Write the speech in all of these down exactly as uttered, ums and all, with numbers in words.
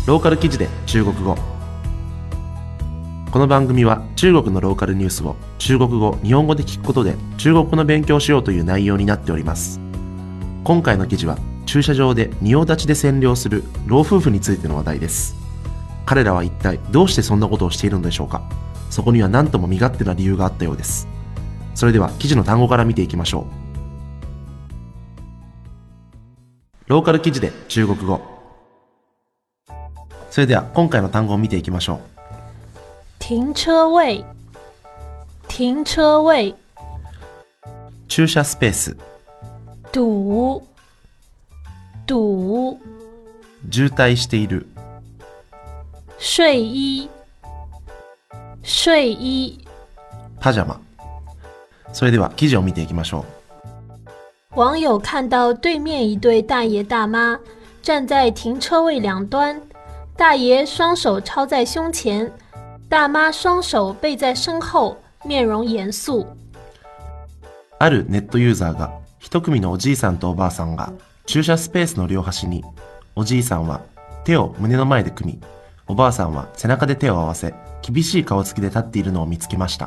ローカル記事で中国語。この番組は中国のローカルニュースを中国語、日本語で聞くことで中国語の勉強をしようという内容になっております。今回の記事は駐車場で仁王立ちで占領する老夫婦についての話題です。彼らは一体どうしてそんなことをしているのでしょうか。そこには何とも身勝手な理由があったようです。それでは記事の単語から見ていきましょう。ローカル記事で中国語。それでは今回の単語を見ていきましょう。 停車位、停車位。 駐車スペース。 堵、堵。 渋滞している。 睡衣、睡衣。 パジャマ。それでは記事を見ていきましょう。网友看到对面一对大爷大妈站在停车位两端，大爷双手抄在胸前，大妈双手背在身後，面容嚴肅。 あるネットユーザーが一組のおじいさんとおばあさんが駐車スペースの両端に、おじいさんは手を胸の前で組み、おばあさんは背中で手を合わせ、厳しい顔つきで立っているのを見つけました。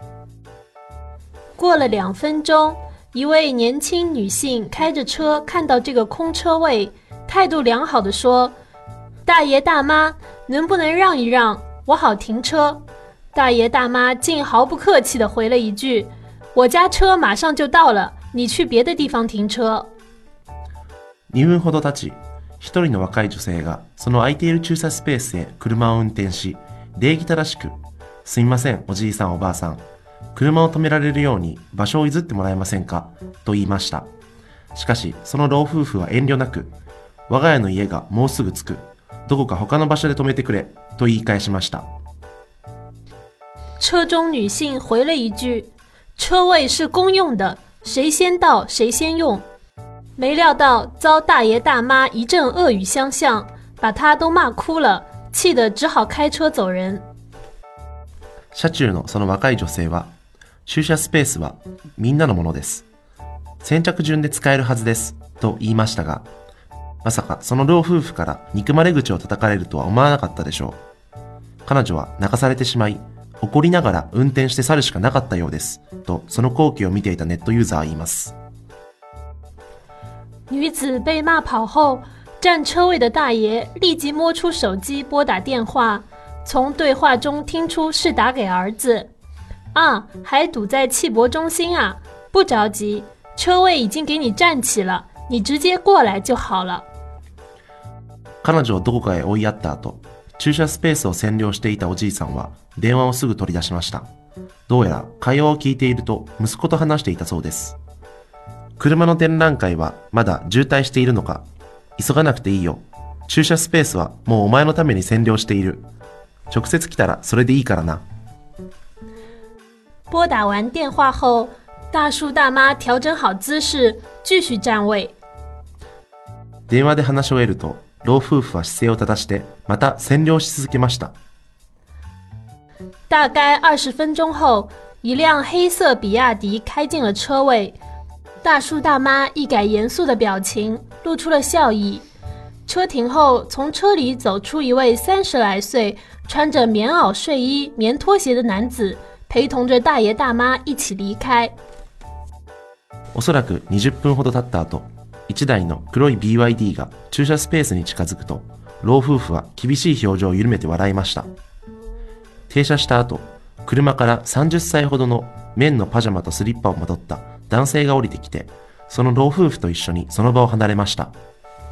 过了两分钟，一位年轻女性开着车看到这个空车位，态度良好地说：“大爷大妈，能不能让一让，我好停车。”大爷大妈竟毫不客气地回了一句：“我家車馬上就到了，你去別的地方停車。” にふんほど経ち、一人の若い女性がその空いている駐車スペースへ車を運転し、礼儀正しく、すみませんおじいさんおばあさん、車を止められるように場所を譲ってもらえませんかと言いました。しかしその老夫婦は遠慮なく、我が家の家がもうすぐ着く、どこか他の場所で止めてくれと言い返しました。 車中女性回了一句：“車位是公用的，誰先到誰先用。”沒料到遭大爺大媽一陣惡語相向，把她都罵哭了，氣得只好開車走人。 車中のその若い女性は、駐車スペースはみんなのものです。先着順で使えるはずですと言いましたが、まさかその老夫婦から憎まれ口を叩かれるとは思わなかったでしょう。彼女は泣かされてしまい、怒りながら運転して去るしかなかったようですと、その光景を見ていたネットユーザーは言います。 女子被罵跑後，占車位的大爺立即摸出手機撥打電話，從對話中聽出是打給兒子。啊，還堵在汽博中心啊，不着急，車位已經給你占起了，你直接過來就好了。 彼女をどこかへ追いやった後、駐車スペースを占領していたおじいさんは電話をすぐ取り出しました。どうやら会話を聞いていると息子と話していたそうです。車の展覧会はまだ渋滞しているのか、急がなくていいよ。駐車スペースはもうお前のために占領している。直接来たらそれでいいからな。 撥打完電話後，大叔大媽調整好姿勢，繼續站位。 電話で話し終えると、老夫婦は姿勢を正してまた占領し続けました。 大概二十分鐘後，一輛黑色比亞迪開進了車位。大叔大媽一改嚴肅的表情，露出了笑意。車停後，從車裡走出一位三十來歲、穿着棉襖睡衣、棉拖鞋的男子，陪同着大爺大媽一起離開。 おそらくにじゅっぷんほど経った後、一台の黒い ビーワイディー が駐車スペースに近づくと、老夫婦は厳しい表情を緩めて笑いました。停車した後、車からさんじゅっさいほどの綿のパジャマとスリッパをまとった男性が降りてきて、その老夫婦と一緒にその場を離れました。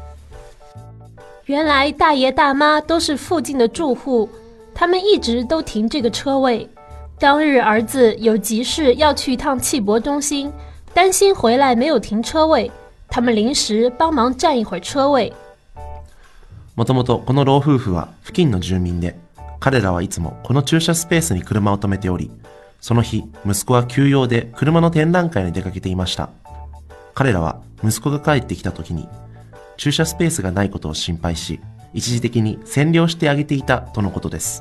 原来大爺大媽都是附近的住戶，他們一直都停這個車位。當日兒子有急事要去一趟汽博中心，擔心回來沒有停車位，他們臨時幫忙佔一會兒車位。 もともとこの老夫婦は付近の住民で、彼らはいつもこの駐車スペースに車を止めており、その日息子は休養で車の展覧会に出かけていました。彼らは息子が帰ってきた時に駐車スペースがないことを心配し、一時的に占領してあげていたとのことです。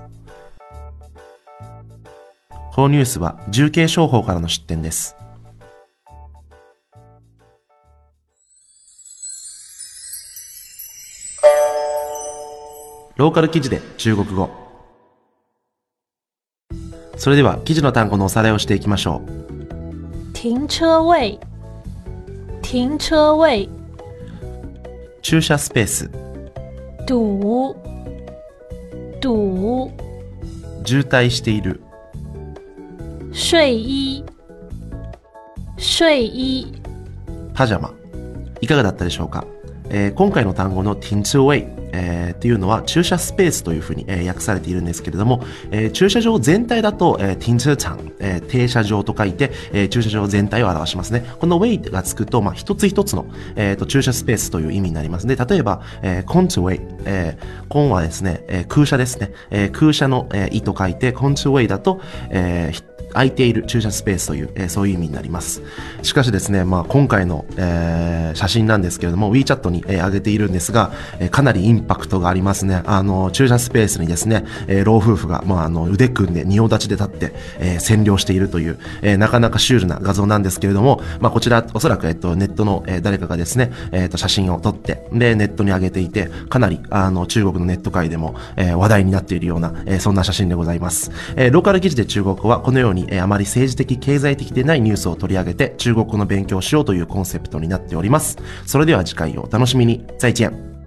このニュースは重慶商法からの出典です。 ローカル記事で中国語。それでは記事の単語のおさらいをしていきましょう。 停車位，停車位， 駐車スペース、 堵，堵， 渋滞している、 睡衣，睡衣， パジャマ。いかがだったでしょうか。えー、今回の単語の停車位、えー、っていうのは駐車スペースというふうに、えー、訳されているんですけれども、えー、駐車場全体だと、えー、停車場、えー、停車場と書いて、えー、駐車場全体を表しますね。この way がつくと、まあ、一つ一つの、えー、と駐車スペースという意味になりますね。例えば、えー、コントウェイ、えー、コンはですね、えー、空車ですね。えー、空車の、えー、意と書いて、コントウェイだと、えー空いている駐車スペースという、えー、そういう意味になります。しかしですね、まあ、今回の、えー、写真なんですけれども WeChat に、えー、上げているんですが、えー、かなりインパクトがありますね。あの駐車スペースにですね、えー、老夫婦が、まあ、あの腕組んで仁王立ちで立って、えー、占領しているという、えー、なかなかシュールな画像なんですけれども、まあ、こちらおそらく、えっと、ネットの、えー、誰かがですね、えー、と写真を撮ってでネットに上げていて、かなりあの中国のネット界でも、えー、話題になっているような、えー、そんな写真でございます。えー、ローカル記事で中国語はこのように、えー、あまり政治的経済的でないニュースを取り上げて中国語の勉強をしようというコンセプトになっております。それでは次回をお楽しみに。再见。